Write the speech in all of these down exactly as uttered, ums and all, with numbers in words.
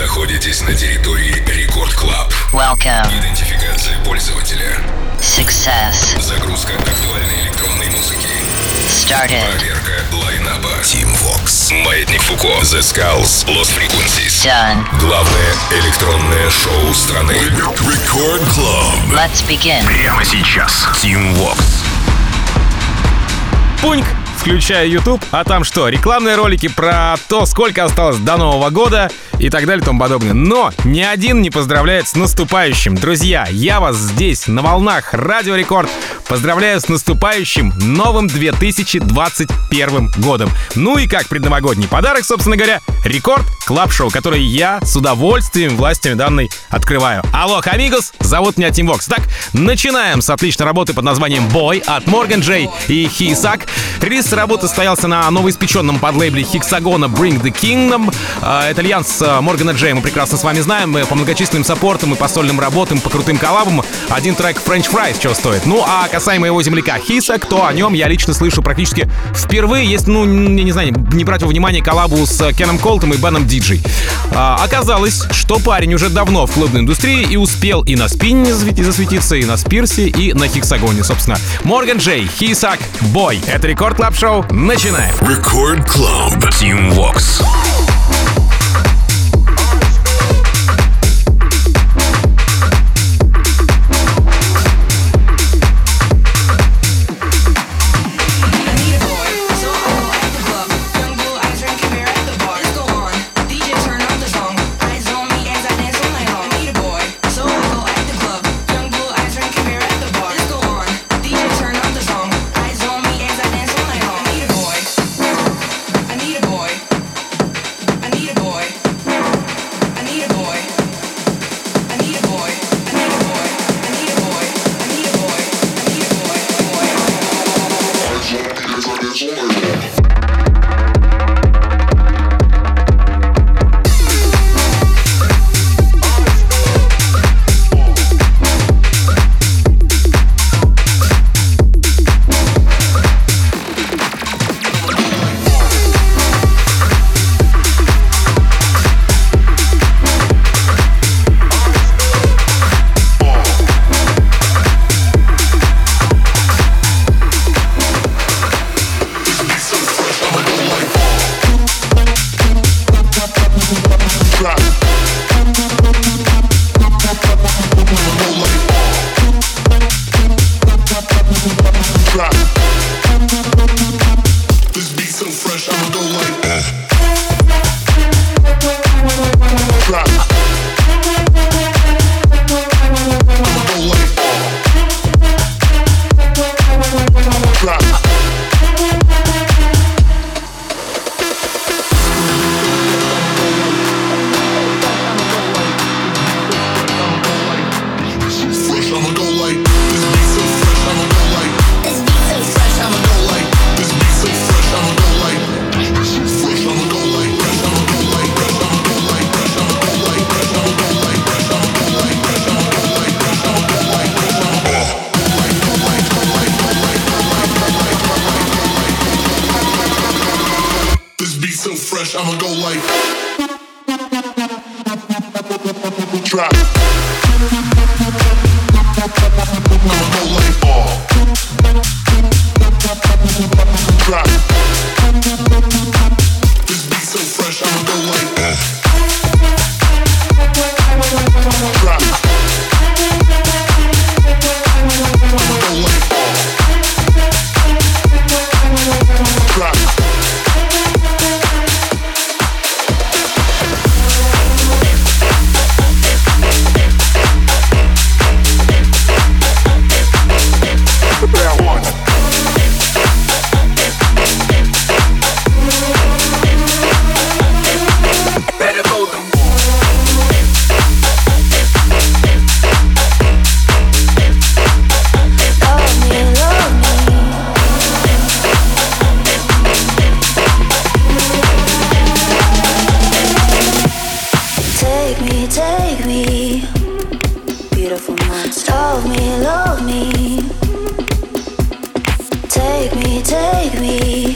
находитесь на территории Рекорд Клаб. Welcome. Идентификация пользователя. Success. Загрузка актуальной электронной музыки. Started. Проверка лайнаба. Team Vox. Маятник Фуко. The Skulls. Lost Frequencies. Done. Главное электронное шоу страны. Рекорд Club. Let's begin. Прямо сейчас. Team Vox. Пуньк. Включаю YouTube, а там что? Рекламные ролики про то, сколько осталось до Нового года и так далее и тому подобное. Но ни один не поздравляет с наступающим. Друзья, я вас здесь, на волнах Радио Рекорд, поздравляю с наступающим новым две тысячи двадцать первым годом. Ну и как предновогодний подарок, собственно говоря, Рекорд Клаб Шоу, который я с удовольствием властями данной открываю. Алло, амигос, зовут меня Team Vox. Так, начинаем с отличной работы под названием Boy от Morgan J и Хисак. Релиз работы состоялся на новоиспеченном подлейбле Hexagona Bring the Kingdom. Это альянс Моргана Джей, мы прекрасно с вами знаем, по многочисленным саппортам и по сольным работам, по крутым коллабам. Один трек French Fries чего стоит. Ну а касаемо его земляка Хисак, то о нем я лично слышу практически впервые, если, ну, я не знаю, не брать во внимание коллабу с Кеном Колтом и Беном Диджей. А, оказалось, что парень уже давно в клубной индустрии и успел и на спинне засветиться, и на Спирсе, и на Хексагоне, собственно. Морган Джей, Хисак, Boy. Это Рекорд Клаб Шоу. Начинаем. Рекорд Клаб. Team Vox.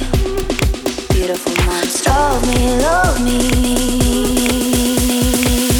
Beautiful monster of me, love me.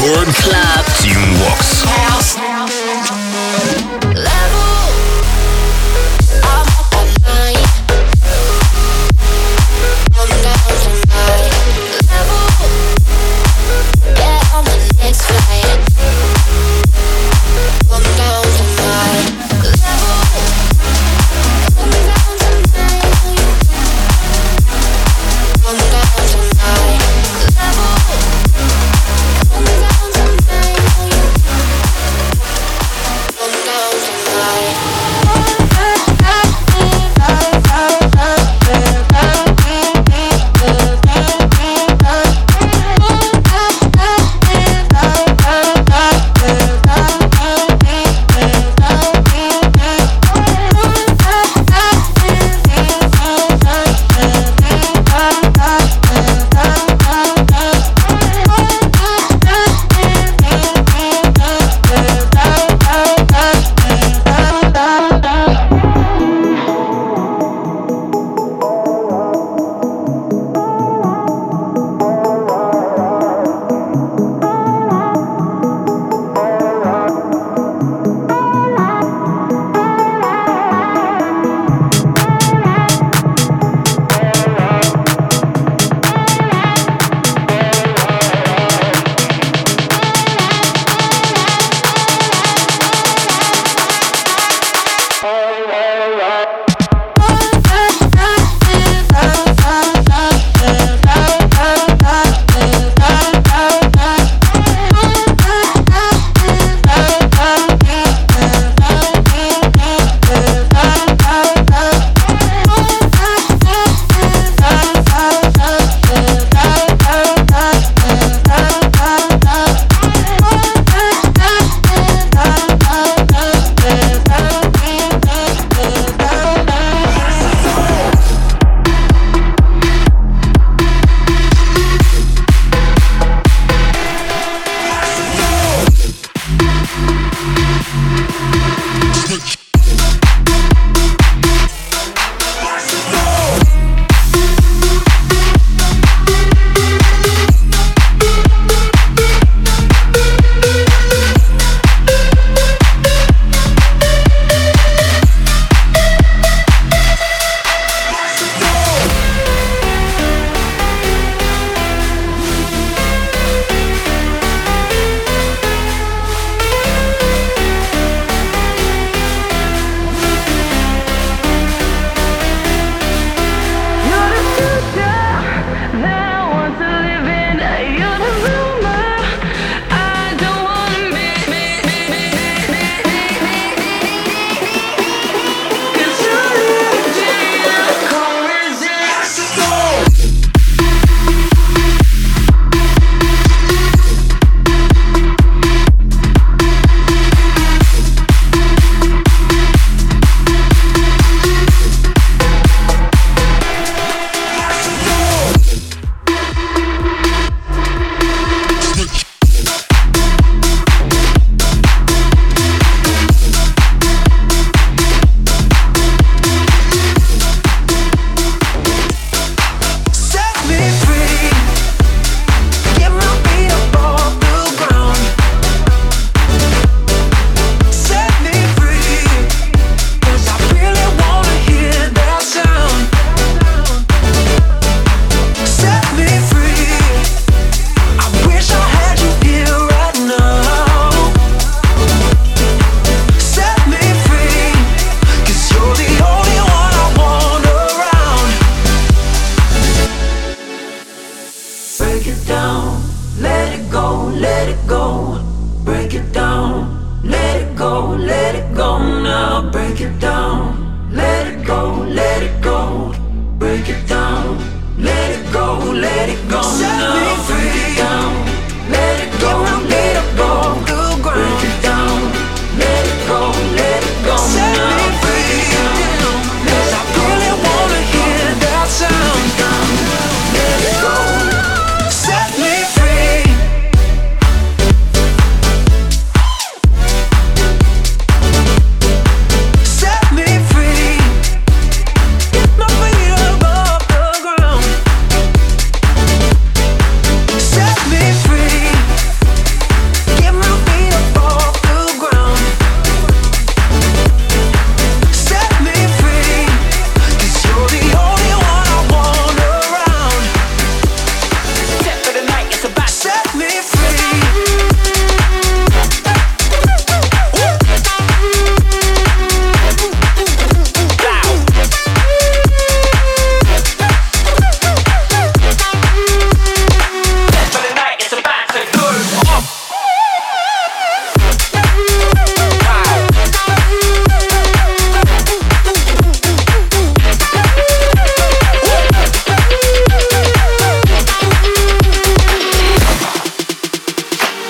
Рекорд Клаб. Team Vox.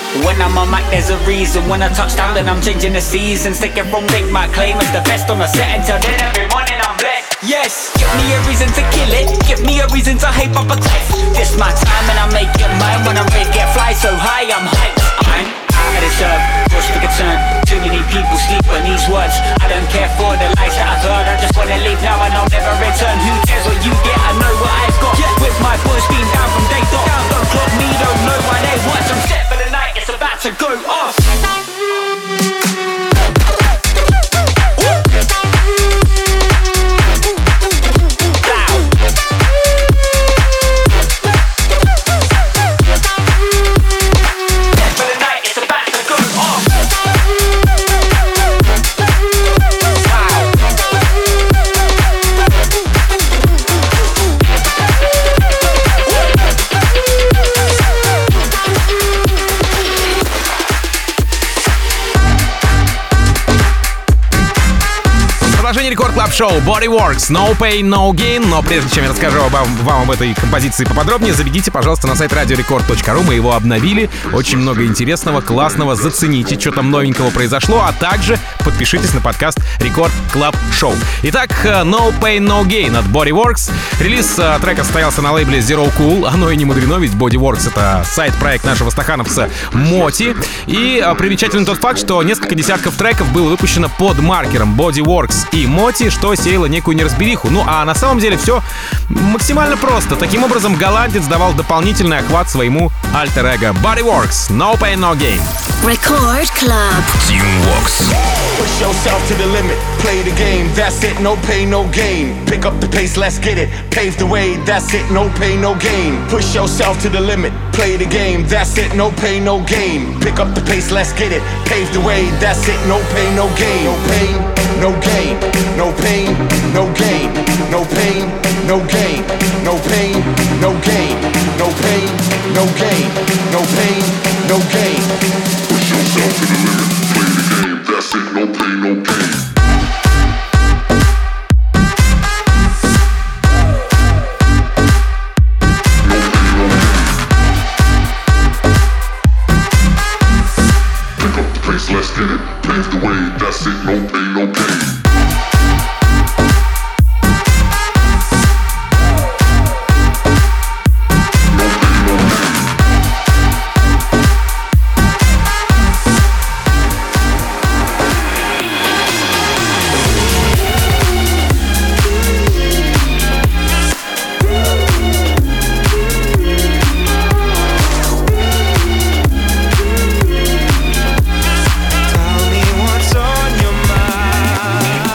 When I'm on mic, there's a reason. When I touch down, then I'm changing the seasons. Take it from Big, my claim as the best on the set. Until then, every morning I'm blessed. Yes, give me a reason to kill it. Give me a reason to hype up a cliff. This my time and I make it mine. When I'm ready, get fly so high, I'm hyped. I'm out of this earth, just for concern. Too many people sleep on these words. I don't care for the lies that I've heard. I just wanna leave now and I'll never return. Who cares what you get? I know what I've got. Yeah. With my boys being down from day dot. Down, don't clock me, don't know why they watch. I'm set for the night, it's about to go off. Рекорд Клаб Шоу Bodyworks, No Pain, No Gain. Но прежде чем я расскажу вам, вам об этой композиции поподробнее, забегите, пожалуйста, на сайт радио рекорд точка ру. Мы его обновили. Очень много интересного, классного. Зацените, что там новенького произошло. А также подпишитесь на подкаст Рекорд Клаб Шоу. Итак, No Pain, No Gain от Bodyworks. Релиз трека состоялся на лейбле Zero Cool. Оно и не мудрено, ведь Bodyworks — это сайт-проект нашего стахановца Моти. И примечательный тот факт, что несколько десятков треков было выпущено под маркером Bodyworks и Моти, что сеяло некую неразбериху. Ну а на самом деле все максимально просто. Таким образом, голландец давал дополнительный охват своему альтер-эго Bodyworks. No Pain, No Gain. Record Club. Team Vox. Push yourself to the limit, play the game, that's it, no pain, no gain. Pick up the pace, let's get it, pave the way, that's it, no pain, no gain. Push yourself to the limit, play the game, that's it, no pain, no gain. Pick up the pace, let's get it, pave the way, that's it, no pain, no gain. No pain, no gain, no pain, no gain. No pain, no gain, no pain, no gain. No pain, no gain, no pain, no gain. Push yourself to the limit, play the game, that's it, no pain, no gain. Let's get it, pave the way, that's it, no pain, no gain. Tell me what's on your mind.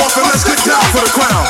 off and let's get down for the crown.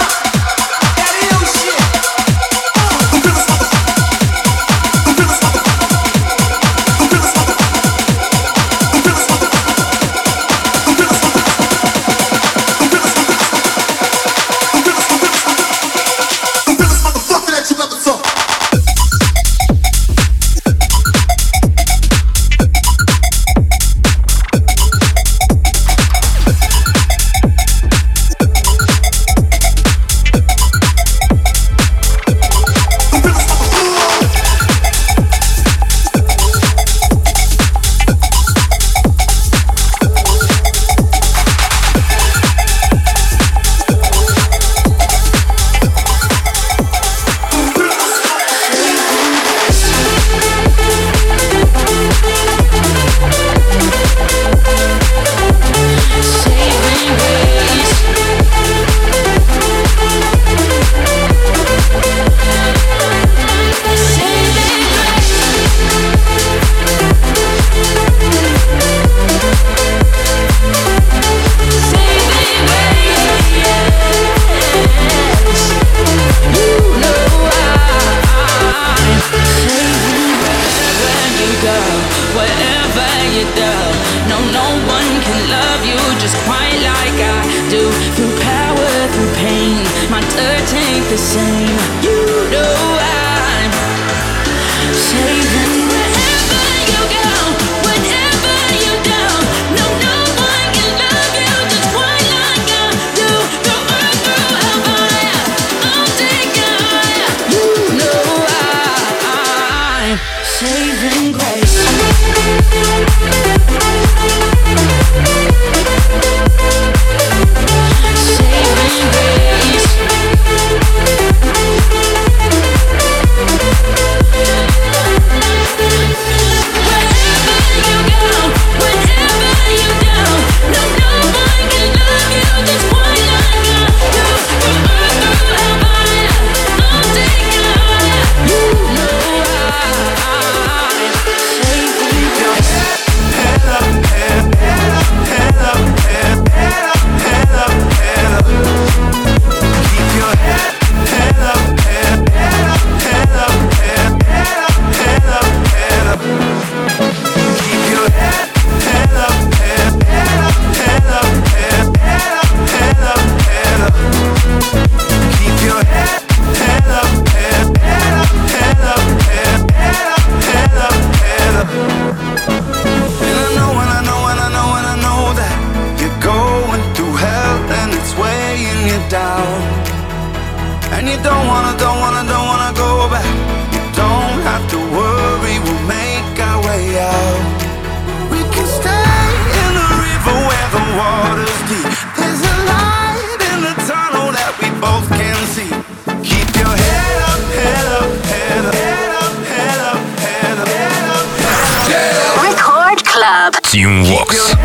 Team Vox.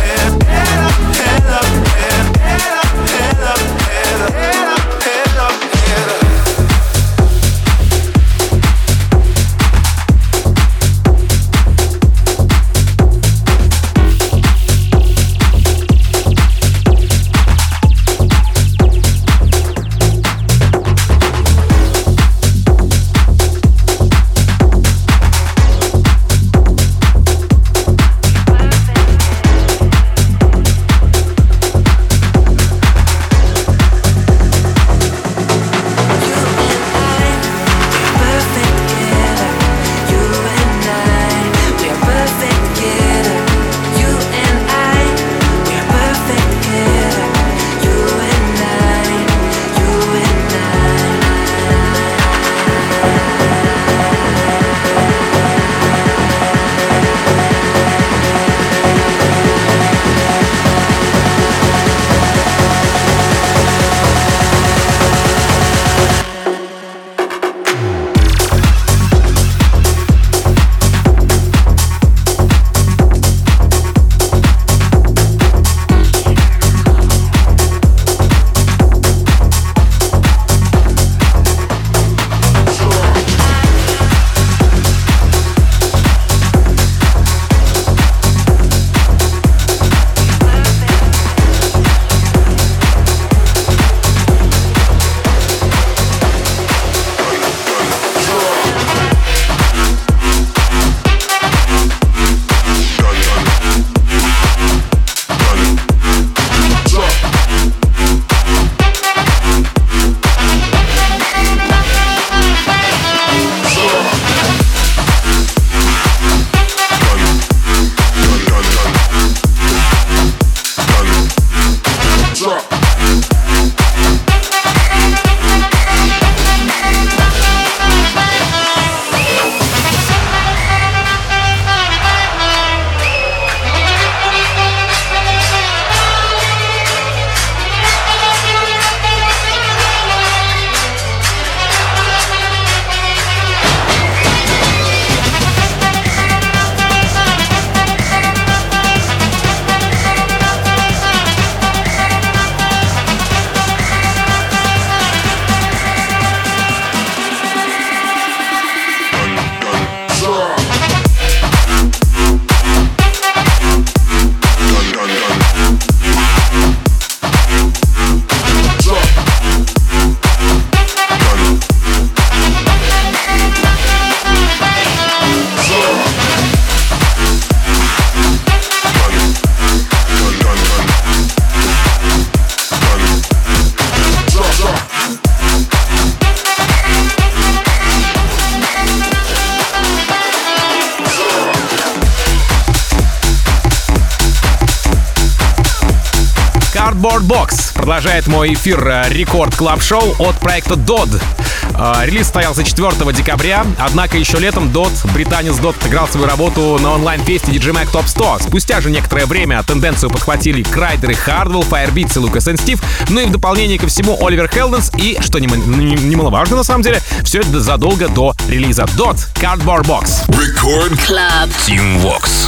Head up, Cardboard Box продолжает мой эфир Рекорд Клаб Шоу от проекта дод. Релиз состоялся четвёртого декабря, однако еще летом дод, британец дод, отыграл свою работу на онлайн-фесте ди джей Mag Top сто. Спустя же некоторое время тенденцию подхватили Крайдер и Хардвелл, Firebeatz и Lucas энд Steve, ну и в дополнение ко всему Оливер Хелденс и, что немаловажно на самом деле, все это задолго до релиза. дод, Cardboard Box. Record Club Team Vox.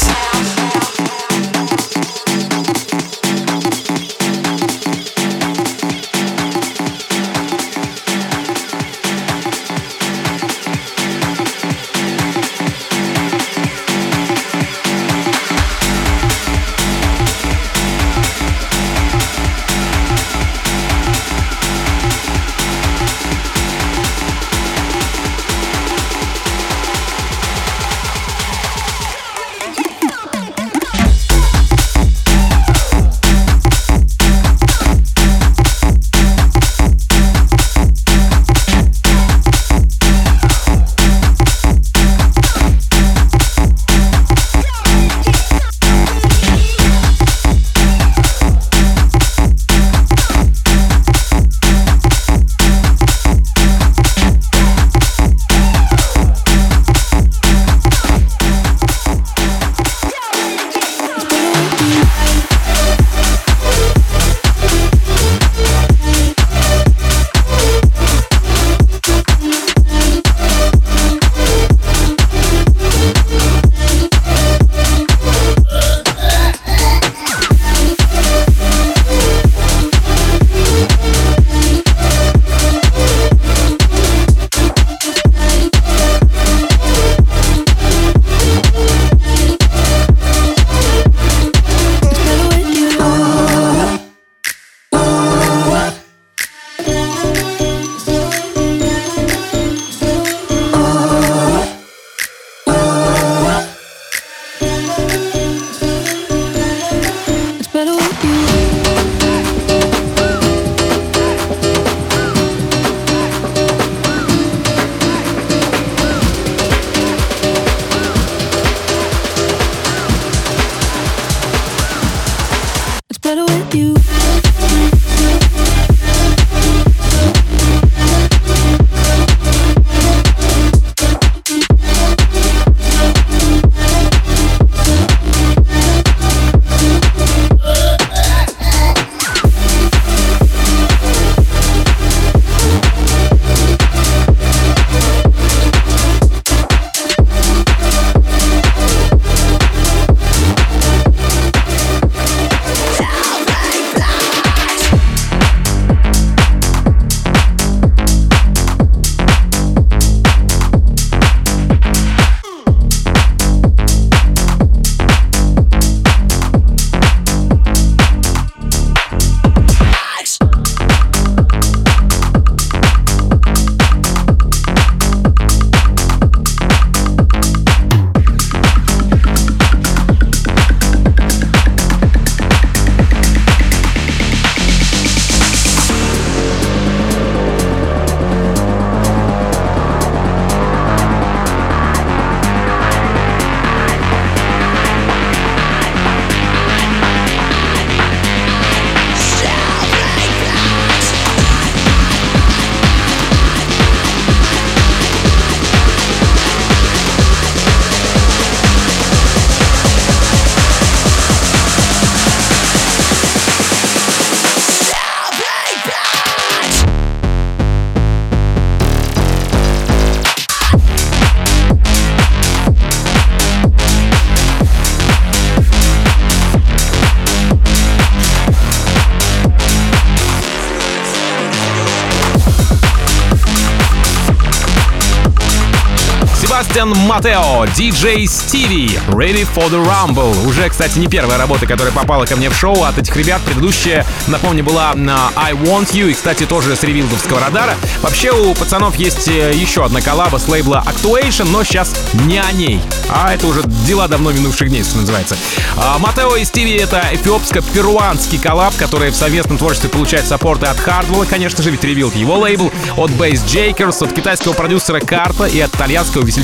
Себастьян Матео, диджей Стиви, Ready for the Rumble. Уже, кстати, не первая работа, которая попала ко мне в шоу от этих ребят. Предыдущая, напомню, была на I Want You, и, кстати, тоже с ревилдовского радара. Вообще у пацанов есть еще одна коллаба с лейбла Actuation, но сейчас не о ней. А это уже дела давно минувших дней, что называется. Матео и Стиви — это эфиопско-перуанский коллаб, который в совместном творчестве получает саппорты от Хардвелла, конечно же, ведь ревилд его лейбл, от Bass Jakers, от китайского продюсера Карта и от итальянского весельчака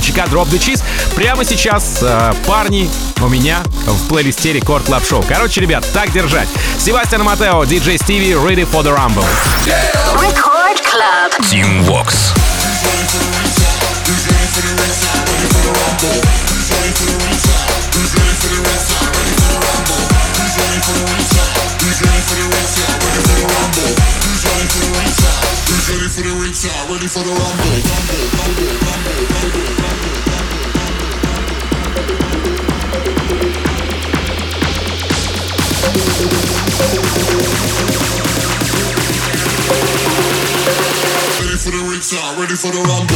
весельчака Drop the Cheese прямо сейчас, э, парни, у меня в плейлисте Рекорд Клаб Шоу. Короче, ребят, так держать. Себастьян Матео, диджей Стиви, Ready for the Rumble. Record Club. Team Vox. Ready for the rumble. Ready for the restart, ready for the rumble.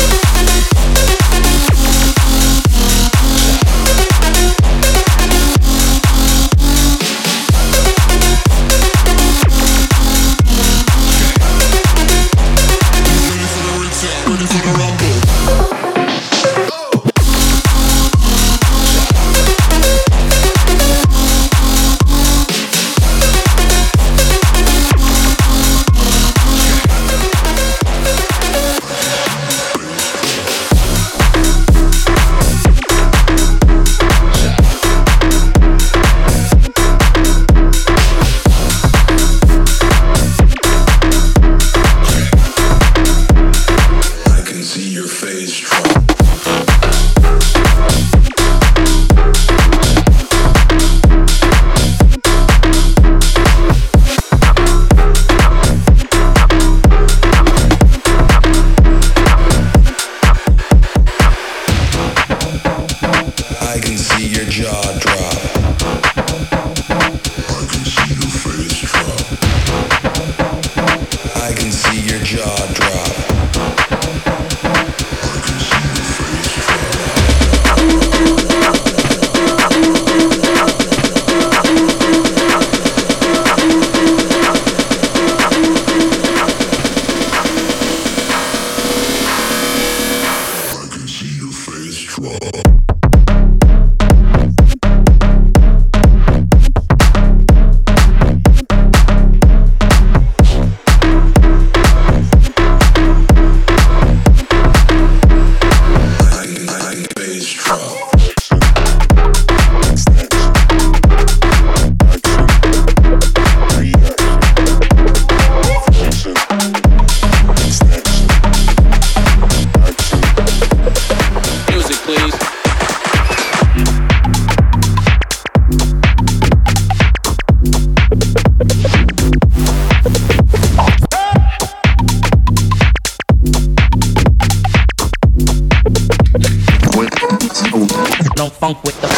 Funk with the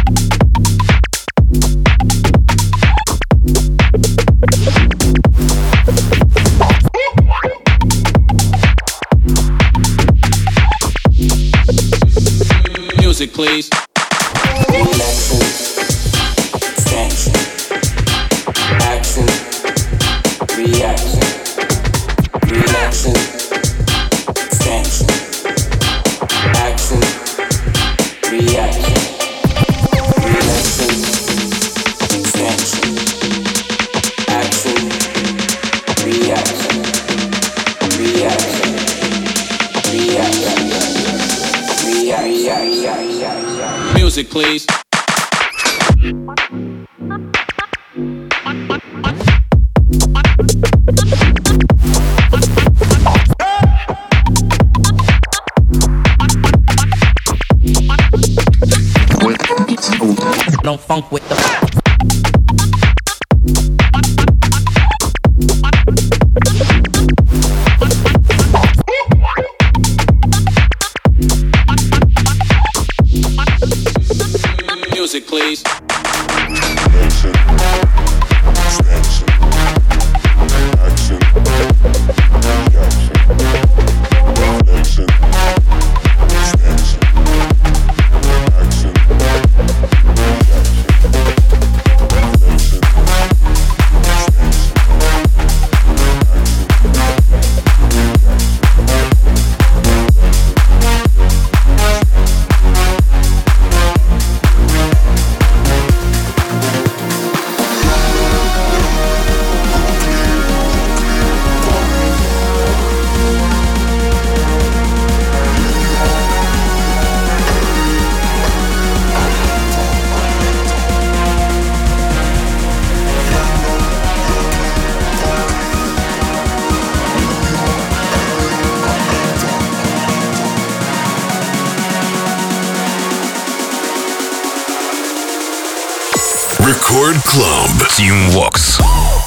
music, please. Relaxing, extension, action, reaction, relaxing, extension, action, reaction. Music, please. Don't funk with the music, please. Action, extension, action, reaction, reflection, extension, action, reaction. Record Club. Team Vox.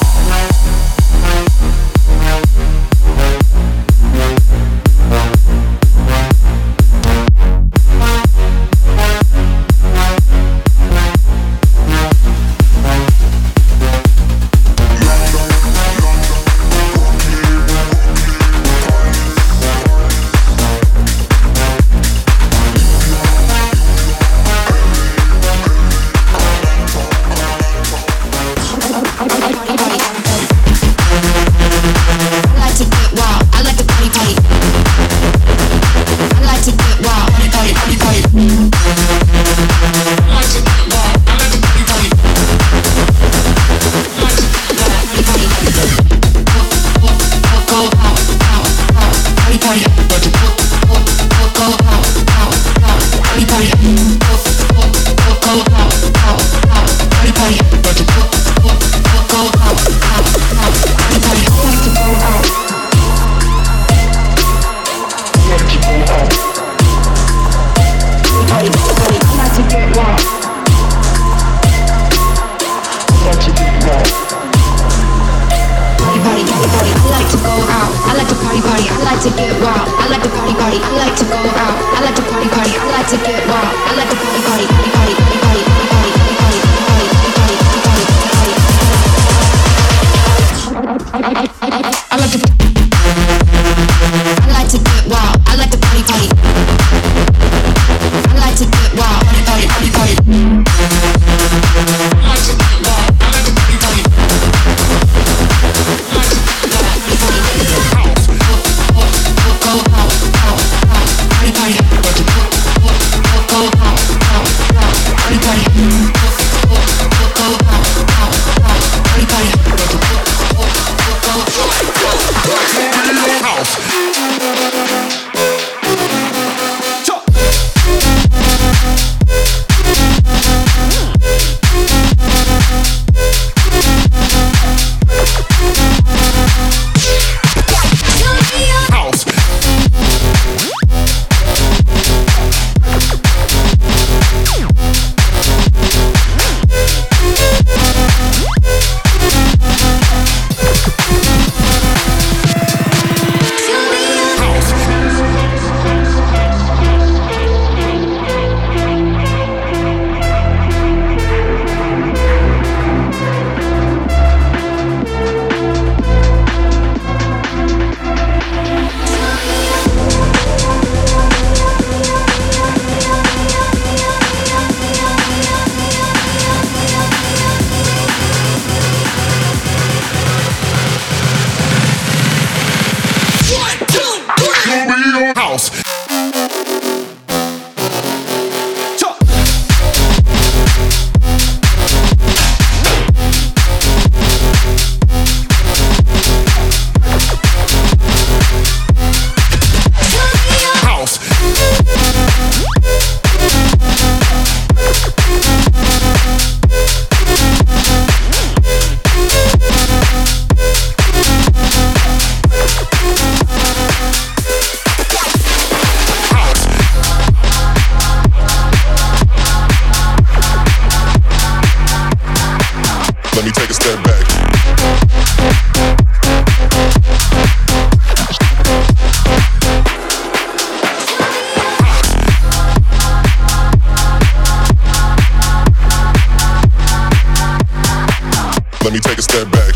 Let me take a step back.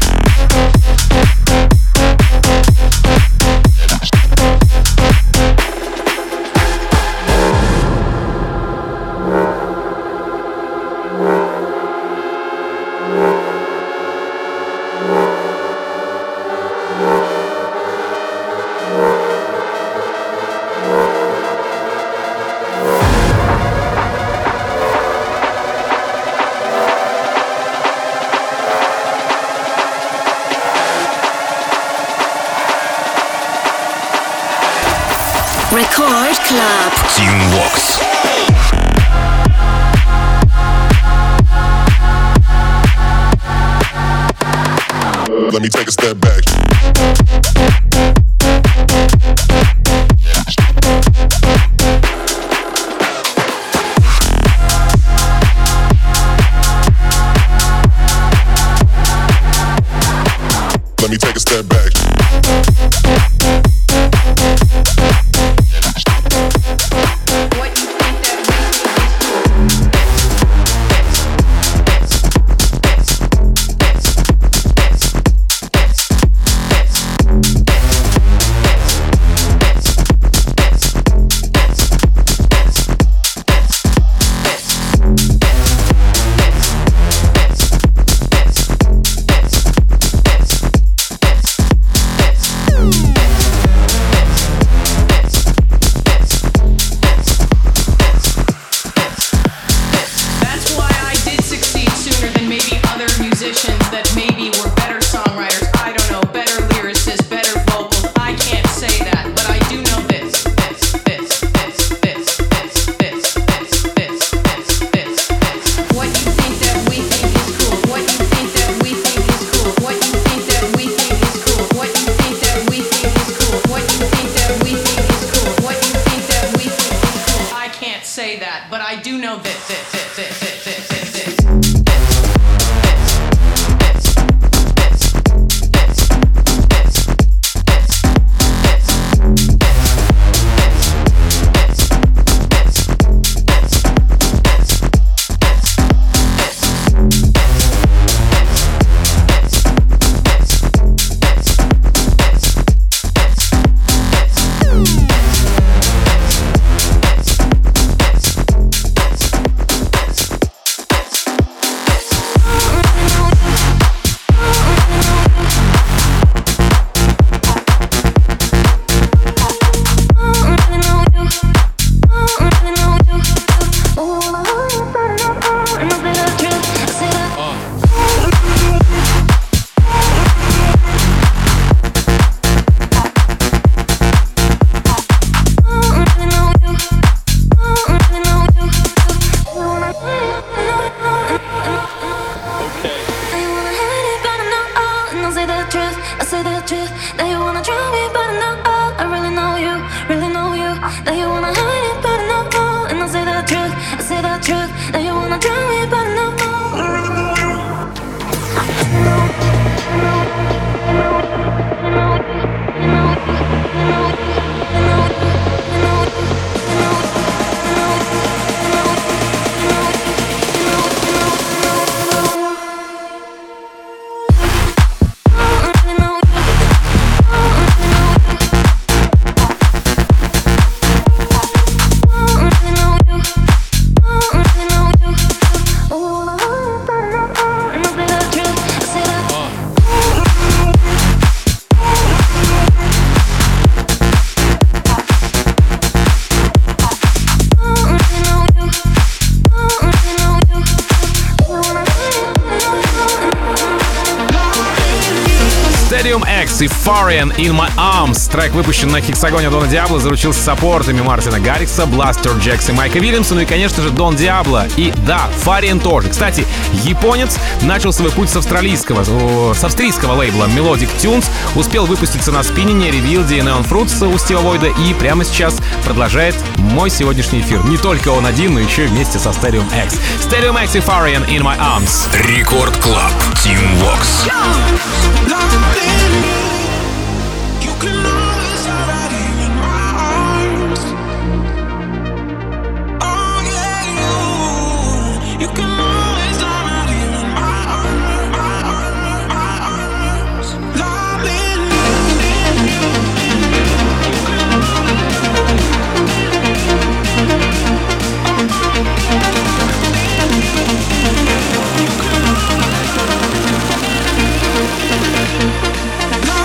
Record Club. Team Vox. Let me take a step back. truth that you wanna drown me, but I know oh, I really know you, really know you. That you wanna hide it, but I know oh, and I say the truth, I say the truth that you wanna drown me, but I know oh. И Farian In My Arms. Трек выпущен на Хексагоне Дона Диабло, заручился саппортами Мартина Гаррикса, Бластер Джекс и Майка Вильямса, ну и, конечно же, Дон Диабло. И да, Farian тоже. Кстати, японец начал свой путь с австралийского, с австрийского лейбла Melodic Tunes, успел выпуститься на спиннине, Revealed и Neon Fruits у Стива Войда и прямо сейчас продолжает мой сегодняшний эфир. Не только он один, но еще и вместе со Stadium X. Stadium X и Farian In My Arms. Рекорд Клаб. Team Vox. Love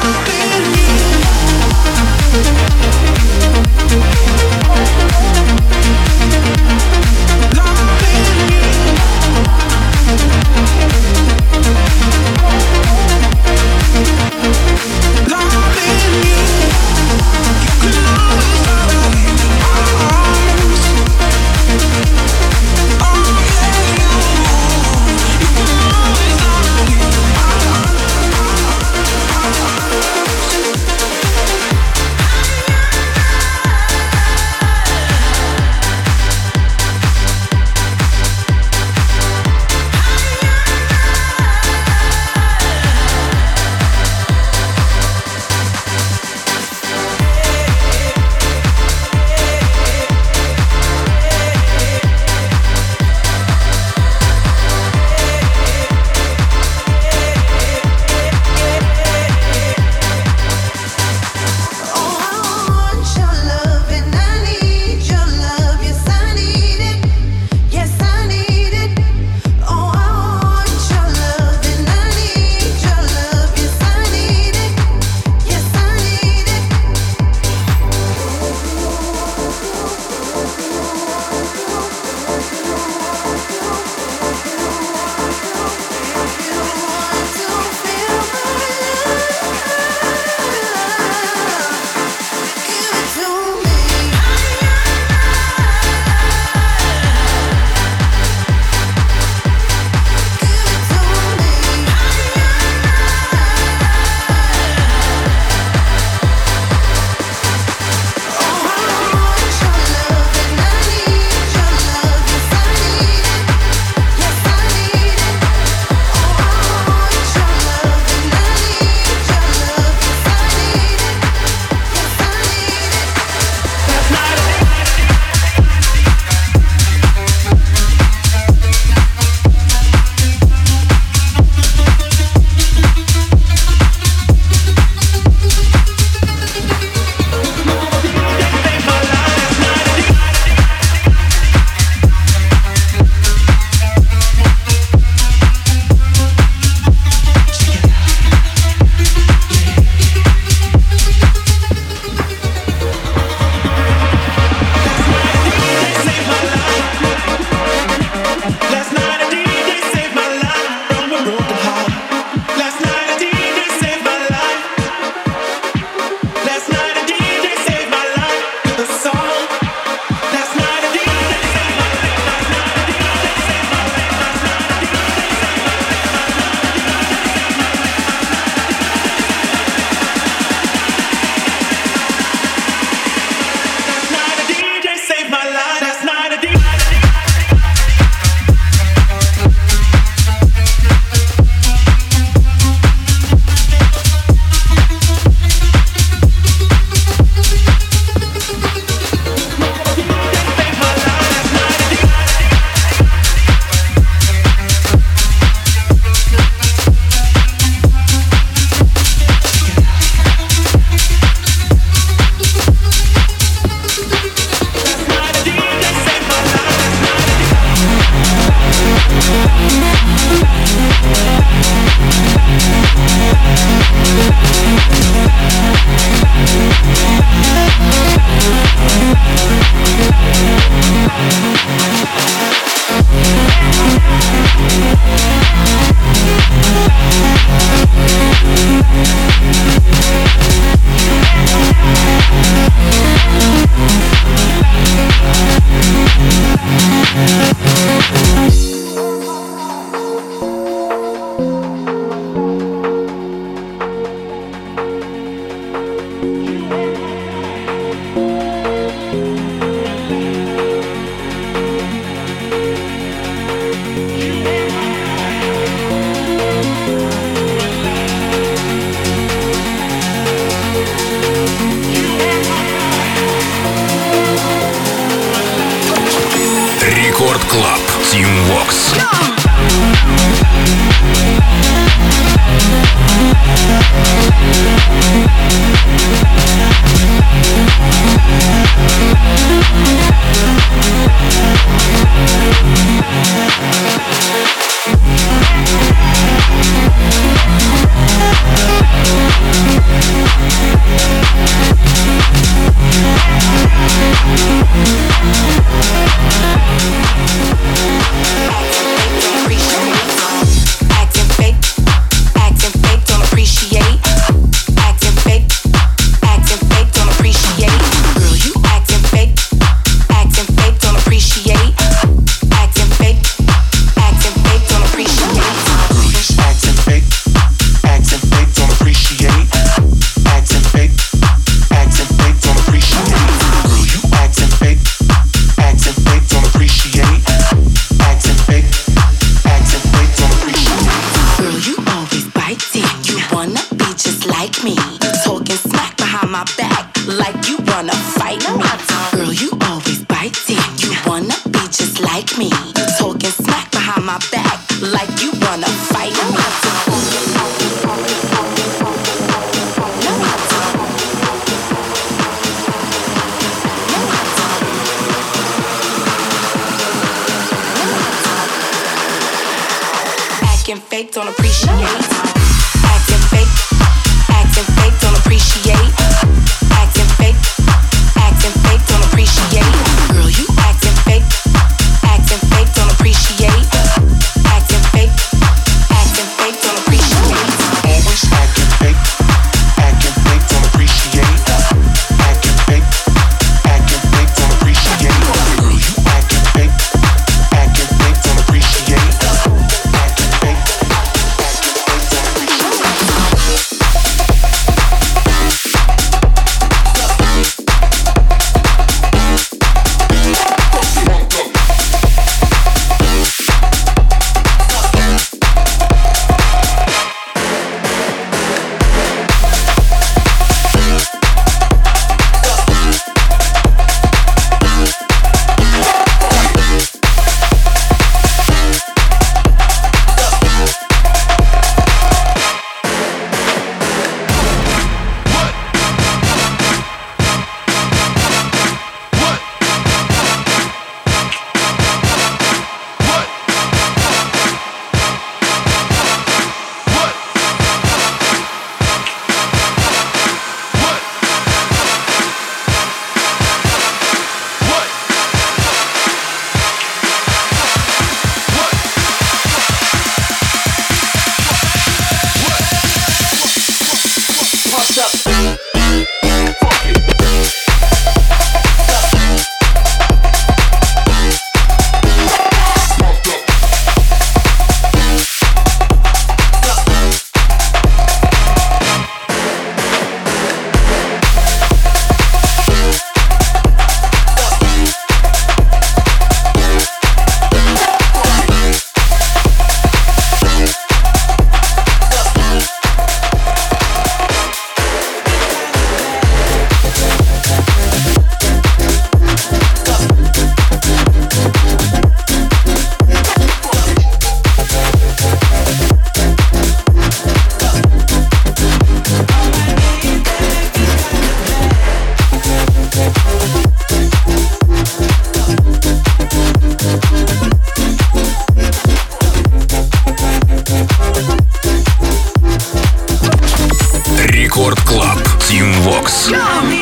Vox.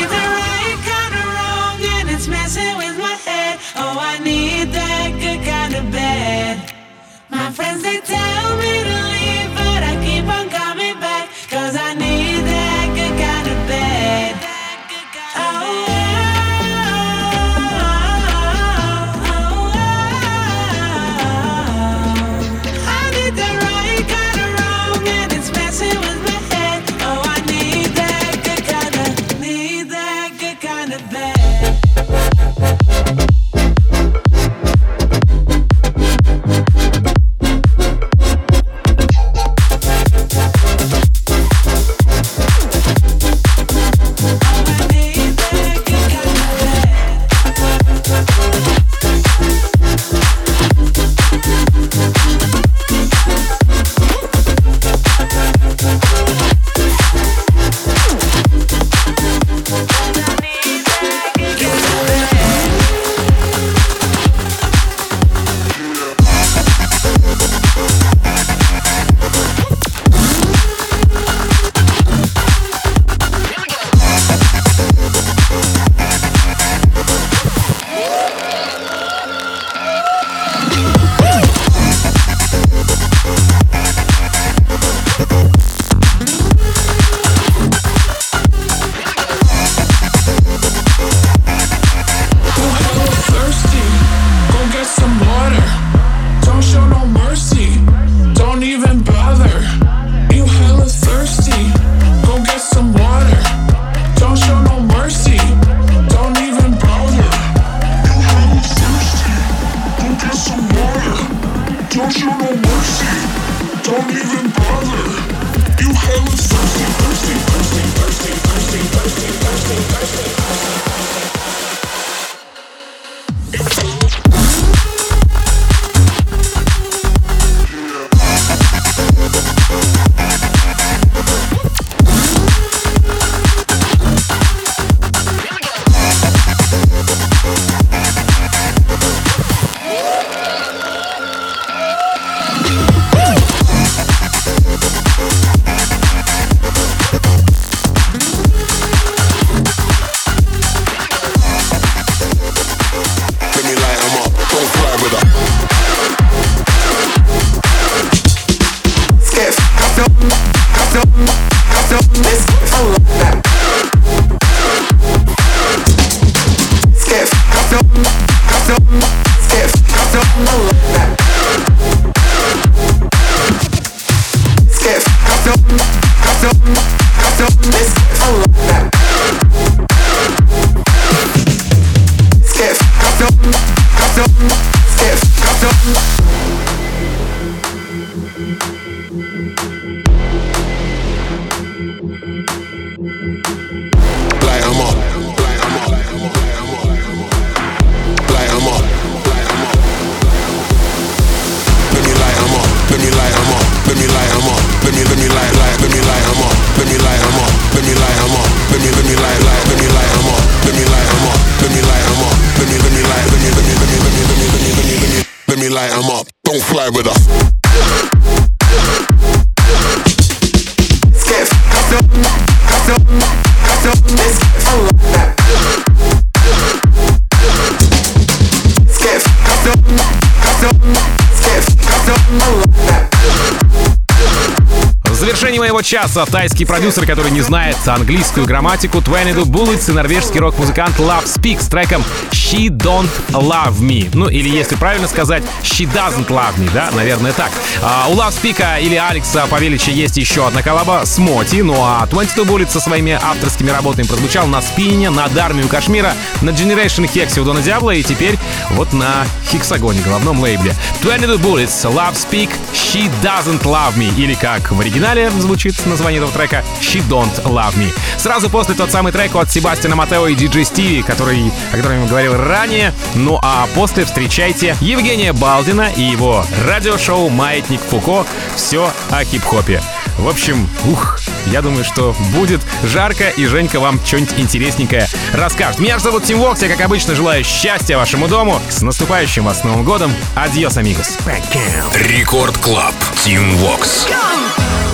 My friends, they tell me to leave, but I keep on coming back, 'cause I need that good kind of bed. Oh, oh, oh, oh. I need the right kind of wrong, and it's messing with my head. Oh, I need that good kind of, need that good kind of bed. Light 'em up, don't fly with us. Skiff, cut up, cut up, cut up, this I love that. Skiff, cut up, cut up, skiff, cut up, I love that. В завершении моего часа тайский продюсер, который не знает английскую грамматику, двадцать два Bullets и норвежский рок-музыкант Love Speak с треком She Don't Love Me. Ну, или если правильно сказать, She Doesn't Love Me, да, наверное, так. А у Love Speak или Алекса Павелича есть еще одна коллаба с Моти, ну а двадцать два Bullets со своими авторскими работами прозвучал на Спине, над Армию Кашмира, на Generation Hex у Дона Диабло и теперь вот на Хексагоне, головном лейбле. двадцать два Bullets, Love Speak, She Doesn't Love Me, или как в оригинале звучит название этого трека She Don't Love Me. Сразу после тот самый трек от Себастьяна Матео и диджей Стиви, который, о котором я говорил ранее. Ну а после встречайте Евгения Балдина и его радиошоу «Маятник Фуко». Все о хип-хопе. В общем, ух, я думаю, что будет жарко, и Женька вам что-нибудь интересненькое расскажет. Меня же зовут Тим Вокс, я, как обычно, желаю счастья вашему дому. С наступающим вас Новым годом. Адьос, амигос. Рекорд Клаб. Тим Вокс. Go!